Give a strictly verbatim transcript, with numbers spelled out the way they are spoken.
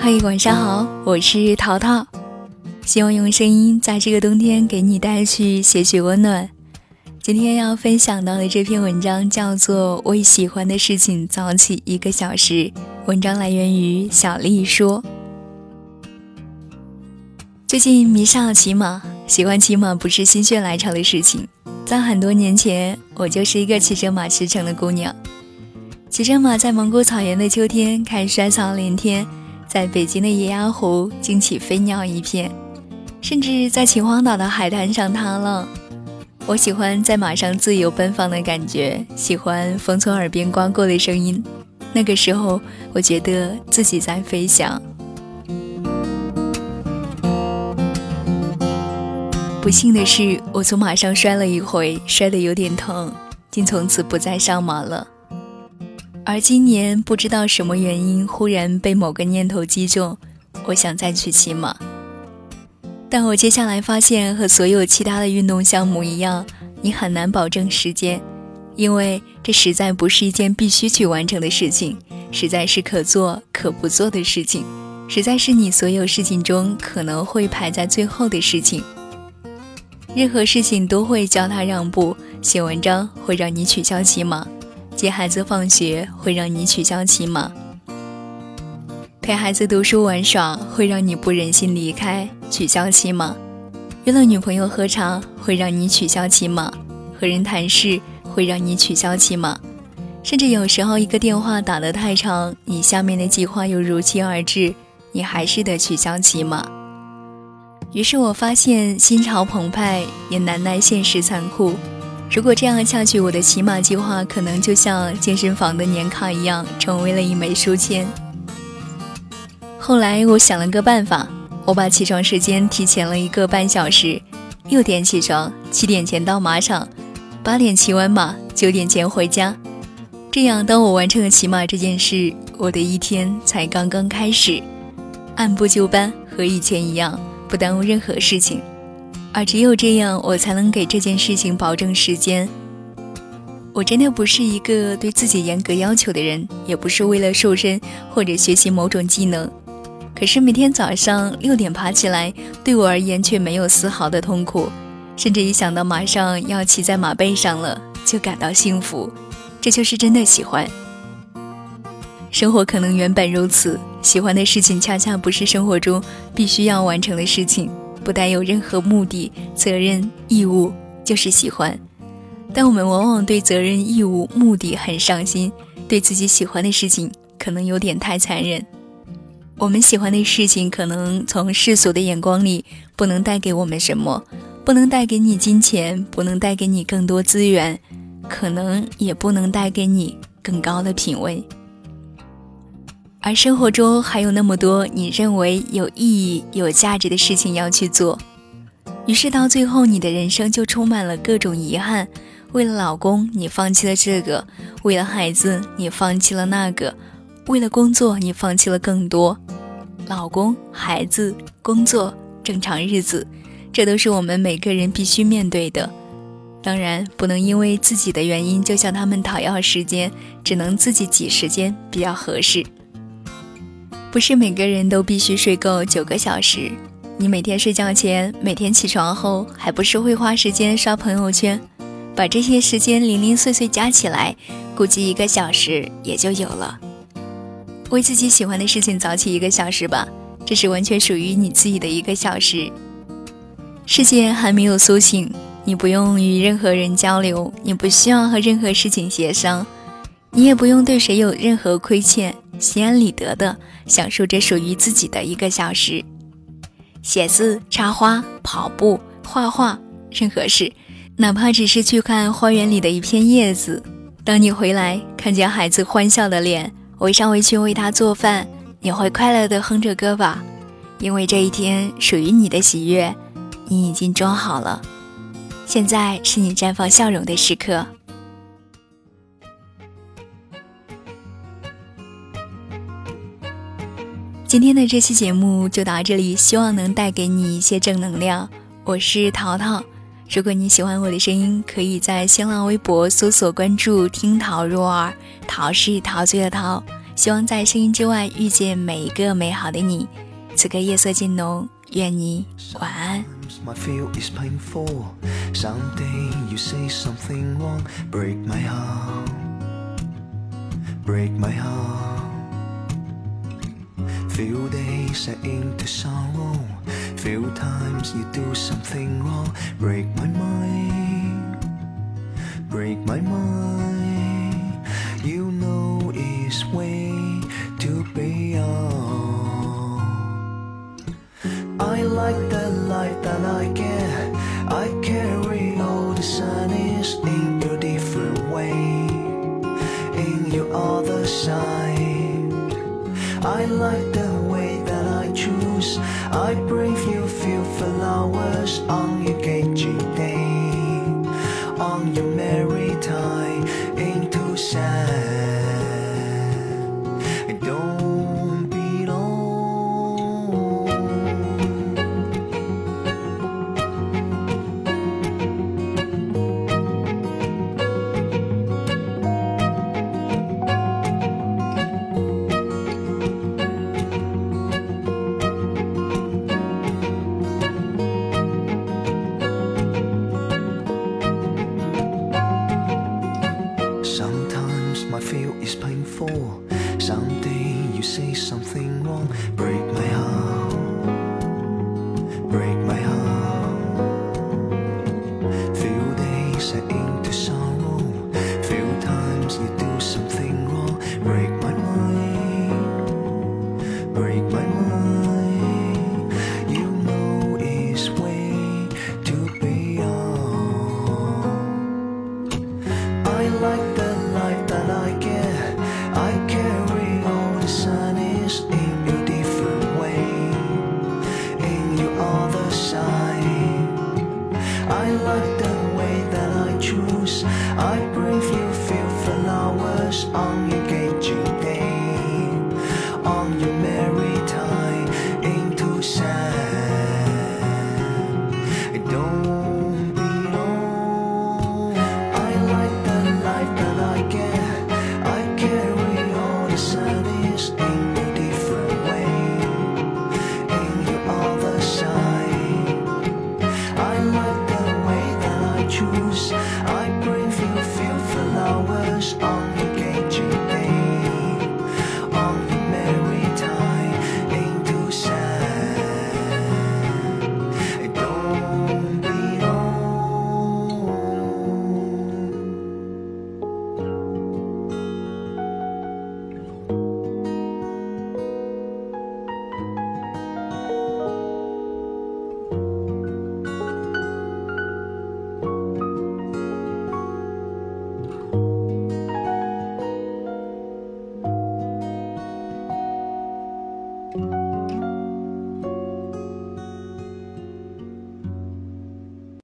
嘿，晚上好，我是淘淘，希望用声音在这个冬天给你带去些许温暖。今天要分享到的这篇文章叫做为喜欢的事情早起一个小时，文章来源于小丽说。最近迷上了骑马，喜欢骑马不是心血来潮的事情，在很多年前我就是一个骑着马驰骋的姑娘，骑着马在蒙古草原的秋天看衰草连天，在北京的野鸭湖惊起飞鸟一片，甚至在秦皇岛的海滩上踏浪。我喜欢在马上自由奔放的感觉，喜欢风从耳边刮过的声音，那个时候我觉得自己在飞翔。不幸的是，我从马上摔了一回，摔得有点疼，竟从此不再上马了。而今年不知道什么原因，忽然被某个念头击中，我想再去骑马。但我接下来发现，和所有其他的运动项目一样，你很难保证时间，因为这实在不是一件必须去完成的事情，实在是可做可不做的事情，实在是你所有事情中可能会排在最后的事情。任何事情都会叫他让步，写文章会让你取消骑马，接孩子放学会让你取消骑马，陪孩子读书玩耍会让你不忍心离开，取消骑马，约了女朋友喝茶会让你取消骑马，和人谈事会让你取消骑马，甚至有时候一个电话打得太长，你下面的计划又如期而至，你还是得取消骑马。于是我发现心潮澎湃，也难耐现实残酷。如果这样下去，我的骑马计划可能就像健身房的年卡一样，成为了一枚书签。后来我想了个办法，我把起床时间提前了一个半小时，六点起床，七点前到马场，八点骑完马，九点前回家。这样当我完成了骑马这件事，我的一天才刚刚开始，按部就班，和以前一样，不耽误任何事情。而只有这样，我才能给这件事情保证时间。我真的不是一个对自己严格要求的人，也不是为了瘦身或者学习某种技能。可是每天早上六点爬起来，对我而言却没有丝毫的痛苦，甚至一想到马上要骑在马背上了，就感到幸福。这就是真的喜欢。生活可能原本如此，喜欢的事情恰恰不是生活中必须要完成的事情，不带有任何目的、责任、义务，就是喜欢。但我们往往对责任、义务、目的很上心，对自己喜欢的事情可能有点太残忍。我们喜欢的事情可能从世俗的眼光里不能带给我们什么，不能带给你金钱，不能带给你更多资源，可能也不能带给你更高的品味。而生活中还有那么多你认为有意义、有价值的事情要去做，于是到最后你的人生就充满了各种遗憾。为了老公你放弃了这个，为了孩子你放弃了那个，为了工作你放弃了更多。老公、孩子、工作、正常日子，这都是我们每个人必须面对的。当然不能因为自己的原因就向他们讨要时间，只能自己挤时间比较合适。不是每个人都必须睡够九个小时，你每天睡觉前，每天起床后，还不是会花时间刷朋友圈，把这些时间零零碎碎加起来，估计一个小时也就有了。为自己喜欢的事情早起一个小时吧，这是完全属于你自己的一个小时。世界还没有苏醒，你不用与任何人交流，你不需要和任何事情协商，你也不用对谁有任何亏欠，心安理得的享受着属于自己的一个小时。写字、插花、跑步、画画，任何事，哪怕只是去看花园里的一片叶子。当你回来看见孩子欢笑的脸，围上围去为他做饭，你会快乐地哼着歌吧，因为这一天属于你的喜悦你已经装好了。现在是你绽放笑容的时刻。今天的这期节目就到这里，希望能带给你一些正能量。我是淘淘，如果你喜欢我的声音，可以在新浪微博搜索关注听桃若儿，桃是陶醉的桃， 希望在声音之外遇见每一个美好的你。此刻夜色渐浓，愿你晚安。 My feel is painful. Someday you say something wrong. Break my heart. Break my heart. Few days I into sorrow. Few times you do something wrong. Break my mind. Break my mind. You know it's way too beyond. I like the life that I get. I carry all the sadness in your different way, in your other side. I like the way that I choose. I bring you few flowers on your engaging day, on your married time into sand. Don't be long. Sometimes my feel is painful. Someday you say something wrong. Break my heart. Break my heart. Few days I into sorrow. Few times you do something wrong. Break my mind. Break my mind. You know it's way too beyond. I like the life that I get. I carry all the sadness in a different way, in your other side. I like the way that I choose. I bring you few flowers on your engaging day, on your married time into sand. Don't be long. I like the life that I get. I carry all the sadness in a different way, in your other side. I like the way that I choose. I bring you few flowers on your engaging day, on your married time into sand. Don't be long.